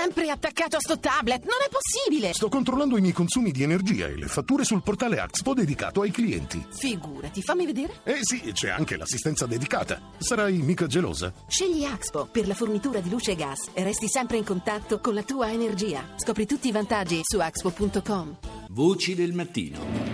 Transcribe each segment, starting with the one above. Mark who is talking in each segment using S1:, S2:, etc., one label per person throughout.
S1: sempre attaccato a sto tablet, non è possibile!
S2: Sto controllando i miei consumi di energia e le fatture sul portale Axpo dedicato ai clienti.
S1: Figurati, fammi vedere.
S2: Sì, c'è anche l'assistenza dedicata. Sarai mica gelosa?
S1: Scegli Axpo per la fornitura di luce e gas e resti sempre in contatto con la tua energia. Scopri tutti i vantaggi su axpo.com.
S3: Voci del mattino.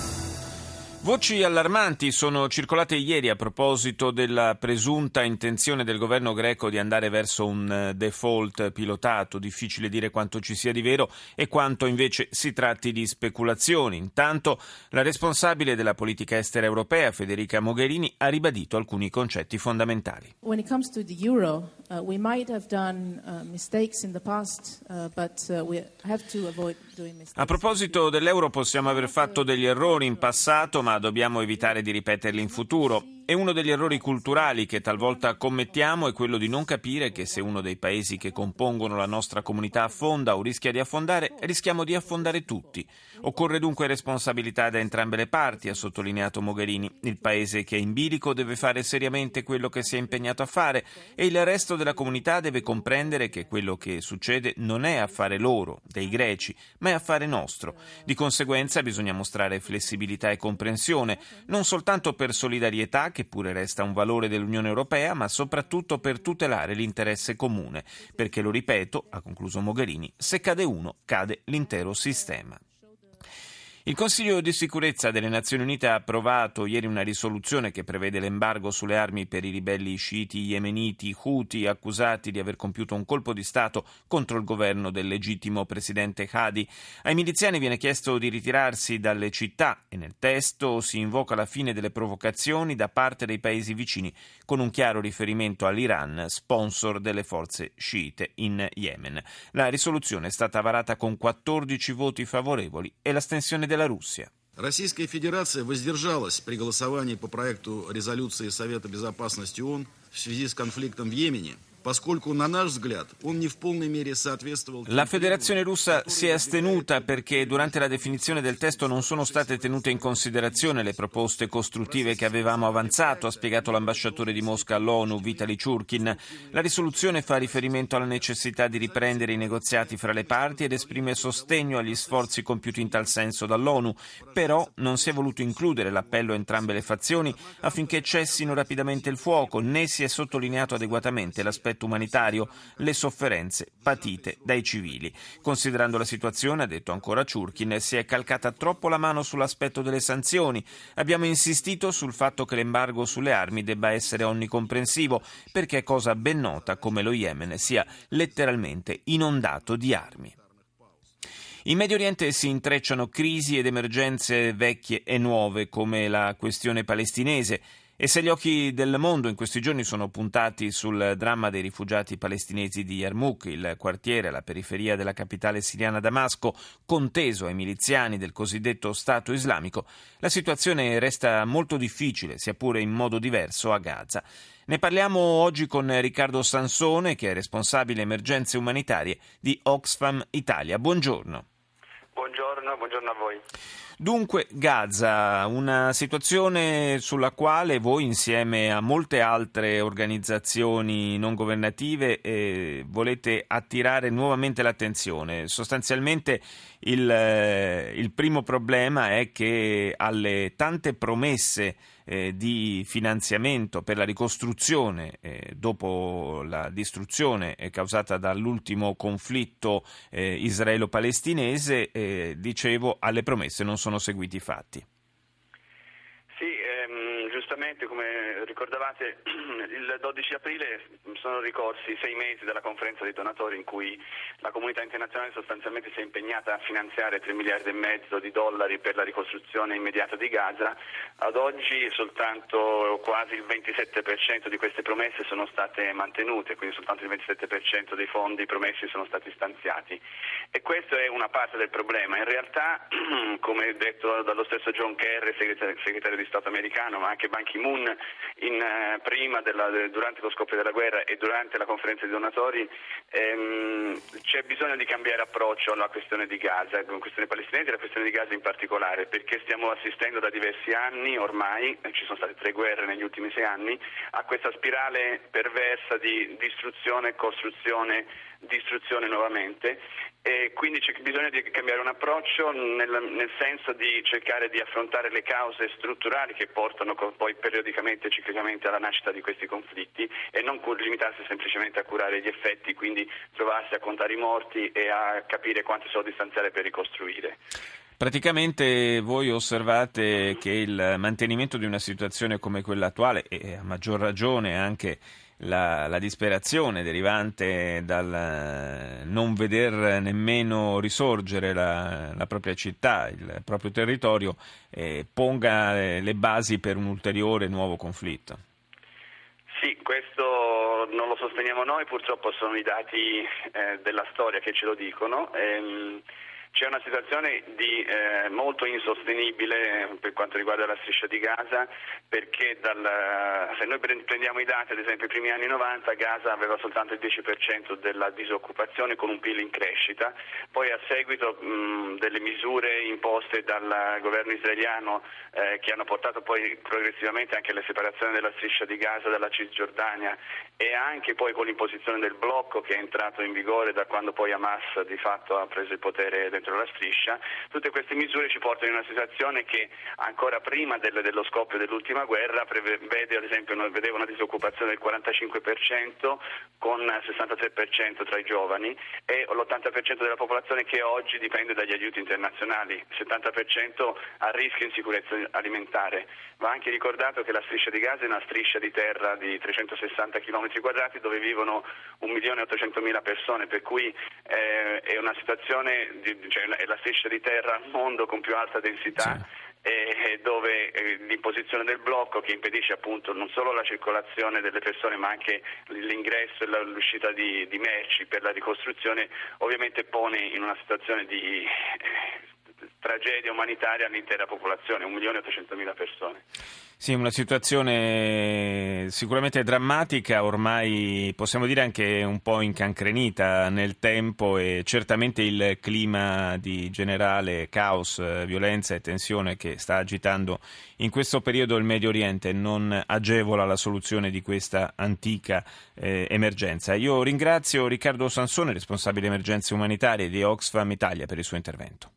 S4: Voci allarmanti sono circolate ieri a proposito della presunta intenzione del governo greco di andare verso un default pilotato. Difficile dire quanto ci sia di vero e quanto invece si tratti di speculazioni. Intanto la responsabile della politica estera europea, Federica Mogherini, ha ribadito alcuni concetti fondamentali.
S5: When it comes to the euro, we might have done mistakes in the past, but we have to avoid doing mistakes.
S4: A proposito dell'euro possiamo aver fatto degli errori in passato, ma dobbiamo evitare di ripeterli in futuro. E uno degli errori culturali che talvolta commettiamo è quello di non capire che se uno dei paesi che compongono la nostra comunità affonda o rischia di affondare, rischiamo di affondare tutti. Occorre dunque responsabilità da entrambe le parti, ha sottolineato Mogherini. Il paese che è in bilico deve fare seriamente quello che si è impegnato a fare e il resto della comunità deve comprendere che quello che succede non è affare loro, dei greci, ma è affare nostro. Di conseguenza bisogna mostrare flessibilità e comprensione, non soltanto per solidarietà, che pure resta un valore dell'Unione Europea, ma soprattutto per tutelare l'interesse comune, perché, lo ripeto, ha concluso Mogherini, se cade uno, cade l'intero sistema. Il Consiglio di sicurezza delle Nazioni Unite ha approvato ieri una risoluzione che prevede l'embargo sulle armi per i ribelli sciiti yemeniti Houthi accusati di aver compiuto un colpo di Stato contro il governo del legittimo presidente Hadi. Ai miliziani viene chiesto di ritirarsi dalle città e nel testo si invoca la fine delle provocazioni da parte dei paesi vicini, con un chiaro riferimento all'Iran, sponsor delle forze sciite in Yemen. La risoluzione è stata varata con 14 voti favorevoli e l'astensione della Russia.
S6: Российская Федерация воздержалась при голосовании по проекту резолюции Совета Безопасности ООН в связи с конфликтом в Йемене, поскольку, на наш взгляд, он не в полной мере соответствовал...
S4: La Federazione Russa si è astenuta perché durante la definizione del testo non sono state tenute in considerazione le proposte costruttive che avevamo avanzato, ha spiegato l'ambasciatore di Mosca all'ONU, Vitaly Churkin. La risoluzione fa riferimento alla necessità di riprendere i negoziati fra le parti ed esprime sostegno agli sforzi compiuti in tal senso dall'ONU, però non si è voluto includere l'appello a entrambe le fazioni affinché cessino rapidamente il fuoco, né si è sottolineato adeguatamente l'aspetto umanitario, le sofferenze patite dai civili. Considerando la situazione, ha detto ancora Churkin, si è calcata troppo la mano sull'aspetto delle sanzioni. Abbiamo insistito sul fatto che l'embargo sulle armi debba essere onnicomprensivo, perché è cosa ben nota come lo Yemen sia letteralmente inondato di armi. In Medio Oriente si intrecciano crisi ed emergenze vecchie e nuove, come la questione palestinese. E se gli occhi del mondo in questi giorni sono puntati sul dramma dei rifugiati palestinesi di Yarmouk, il quartiere alla periferia della capitale siriana Damasco, conteso ai miliziani del cosiddetto Stato islamico, la situazione resta molto difficile, sia pure in modo diverso, a Gaza. Ne parliamo oggi con Riccardo Sansone, che è responsabile emergenze umanitarie di Oxfam Italia. Buongiorno.
S7: Buongiorno a voi.
S4: Dunque, Gaza, una situazione sulla quale voi, insieme a molte altre organizzazioni non governative, volete attirare nuovamente l'attenzione. Sostanzialmente il primo problema è che alle tante promesse di finanziamento per la ricostruzione dopo la distruzione causata dall'ultimo conflitto israelo-palestinese, dicevo, alle promesse non sono seguiti i fatti.
S7: Sì, giustamente come ricordavate il 12 aprile sono ricorsi 6 mesi dalla conferenza dei donatori in cui la comunità internazionale sostanzialmente si è impegnata a finanziare 3 miliardi e mezzo di dollari per la ricostruzione immediata di Gaza. Ad oggi soltanto quasi il 27% di queste promesse sono state mantenute, quindi soltanto il 27% dei fondi promessi sono stati stanziati. E questa è una parte del problema. In realtà, come detto dallo stesso John Kerry, segretario di Stato americano, ma anche Ban Ki-moon durante lo scoppio della guerra e durante la conferenza dei donatori, c'è bisogno di cambiare approccio alla questione di Gaza, la questione palestinese e la questione di Gaza in particolare, perché stiamo assistendo da diversi anni ormai, ci sono state 3 guerre negli ultimi 6 anni, a questa spirale perversa di distruzione, costruzione, distruzione nuovamente, e quindi c'è bisogno di cambiare un approccio nel senso di cercare di affrontare le cause strutturali che portano poi periodicamente e ciclicamente alla nascita di questi conflitti e non limitarsi semplicemente a curare gli effetti, quindi trovarsi a contare i morti e a capire quanti soldi stanziare per ricostruire.
S4: Praticamente voi osservate che il mantenimento di una situazione come quella attuale, e a maggior ragione anche la disperazione derivante dal non veder nemmeno risorgere la propria città, il proprio territorio, ponga le basi per un ulteriore nuovo conflitto.
S7: Sì, questo non lo sosteniamo noi, purtroppo sono i dati della storia che ce lo dicono. C'è una situazione molto insostenibile per quanto riguarda la striscia di Gaza, perché se noi prendiamo i dati, ad esempio i primi anni 90, Gaza aveva soltanto il 10% della disoccupazione con un PIL in crescita, poi a seguito delle misure imposte dal governo israeliano che hanno portato poi progressivamente anche alla separazione della striscia di Gaza dalla Cisgiordania e anche poi con l'imposizione del blocco che è entrato in vigore da quando poi Hamas di fatto ha preso il potere dentro la striscia, tutte queste misure ci portano in una situazione che ancora prima dello scoppio dell'ultima guerra vede ad esempio vedeva una disoccupazione del 45% con 63% tra i giovani e l'80% della popolazione che oggi dipende dagli aiuti internazionali, il 70% a rischio insicurezza alimentare. Va anche ricordato che la striscia di Gaza è una striscia di terra di 360 km quadrati dove vivono 1.800.000 persone, per cui è una situazione è la striscia di terra al mondo con più alta densità. Sì. Dove l'imposizione del blocco che impedisce appunto non solo la circolazione delle persone ma anche l'ingresso e l'uscita di merci per la ricostruzione ovviamente pone in una situazione di tragedia umanitaria l'intera popolazione, 1.800.000 persone.
S4: Sì, una situazione sicuramente drammatica, ormai possiamo dire anche un po' incancrenita nel tempo e certamente il clima di generale caos, violenza e tensione che sta agitando in questo periodo il Medio Oriente non agevola la soluzione di questa antica emergenza. Io ringrazio Riccardo Sansone, responsabile emergenze umanitarie di Oxfam Italia, per il suo intervento.